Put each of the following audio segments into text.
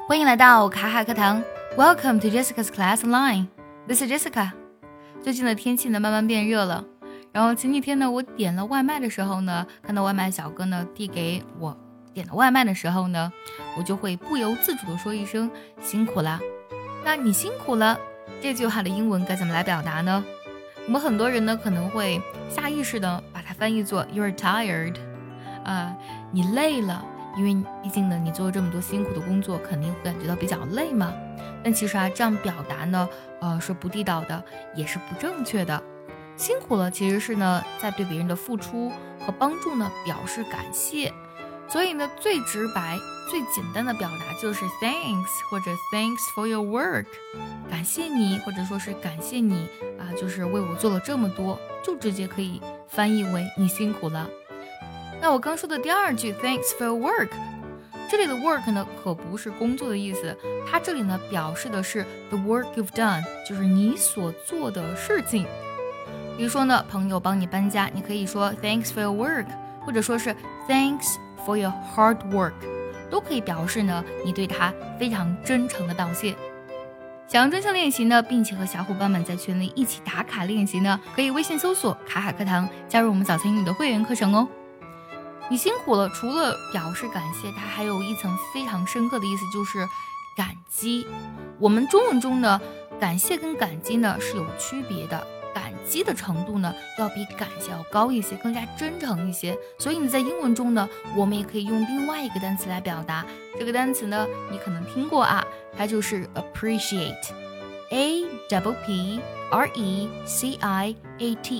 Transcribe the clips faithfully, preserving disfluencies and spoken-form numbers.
欢迎来到卡卡课堂 Welcome to Jessica's Class Online. This is Jessica. 最近的天气呢慢慢变热了，然后前几天呢我点了外卖的时候呢，看到外卖小哥呢递给我点了外卖的时候呢，我就会不由自主的说一声辛苦啦。那你辛苦了这句话的英文该怎么来表达呢？我们很多人呢可能会下意识的把它翻译作 You're tired， 啊、呃，你累了，因为毕竟呢你做了这么多辛苦的工作，肯定会感觉到比较累嘛。但其实啊这样表达呢，呃是不地道的，也是不正确的。辛苦了其实是呢在对别人的付出和帮助呢表示感谢，所以呢最直白最简单的表达就是 thanks 或者 thanks for your work， 感谢你，或者说是感谢你啊、呃，就是为我做了这么多，就直接可以翻译为你辛苦了。那我刚说的第二句 thanks for your work， 这里的 work 呢可不是工作的意思，它这里呢表示的是 the work you've done， 就是你所做的事情。比如说呢朋友帮你搬家，你可以说 thanks for your work， 或者说是 thanks for your hard work， 都可以表示呢你对他非常真诚的道谢。想要专项练习呢，并且和小伙伴们在群里一起打卡练习呢，可以微信搜索卡卡课堂，加入我们早餐英语的会员课程哦。你辛苦了，除了表示感谢，它还有一层非常深刻的意思，就是感激。我们中文中呢，感谢跟感激呢是有区别的，感激的程度呢要比感谢要高一些，更加真诚一些。所以你在英文中呢，我们也可以用另外一个单词来表达。这个单词呢，你可能听过啊，它就是 appreciate，A double P R E C I A T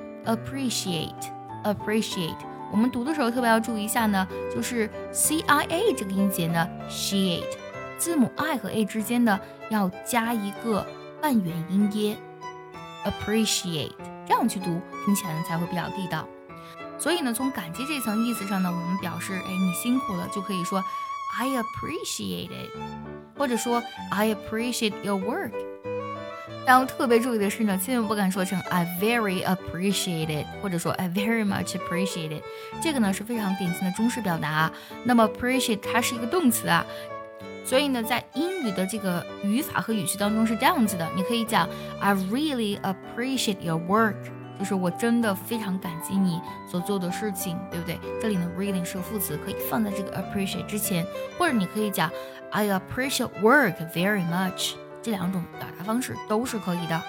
E，appreciate，appreciate。我们读的时候特别要注意一下呢，就是 C I A 这个音节呢 ，sheate， 字母 I 和 A 之间呢要加一个半元音耶 ，appreciate， 这样去读，听起来呢才会比较地道。所以呢，从感激这层意思上呢，我们表示，哎，你辛苦了，就可以说 I appreciate it， 或者说 I appreciate your work。然后特别注意的是呢，千万不敢说成 I very appreciate it， 或者说 I very much appreciate it， 这个呢是非常典型的中式表达。那么 appreciate 它是一个动词啊，所以呢在英语的这个语法和语气当中是这样子的，你可以讲 I really appreciate your work， 就是我真的非常感激你所做的事情，对不对？这里呢 really 是个副词，可以放在这个 appreciate 之前，或者你可以讲 I appreciate work very much，这两种表达方式都是可以的。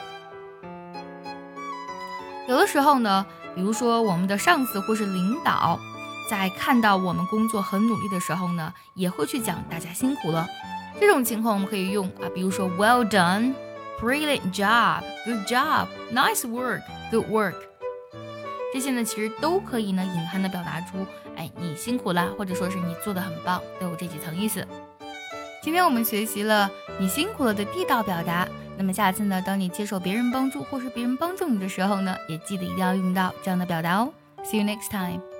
有的时候呢，比如说我们的上司或是领导在看到我们工作很努力的时候呢，也会去讲大家辛苦了。这种情况我们可以用啊，比如说 well done， brilliant job， good job， nice work， good work。 这些呢其实都可以呢隐含的表达出哎你辛苦啦，或者说是你做得很棒，都有这几层意思。今天我们学习了你辛苦了的地道表达，那么下次呢，当你接受别人帮助或是别人帮助你的时候呢，也记得一定要用到这样的表达哦。See you next time.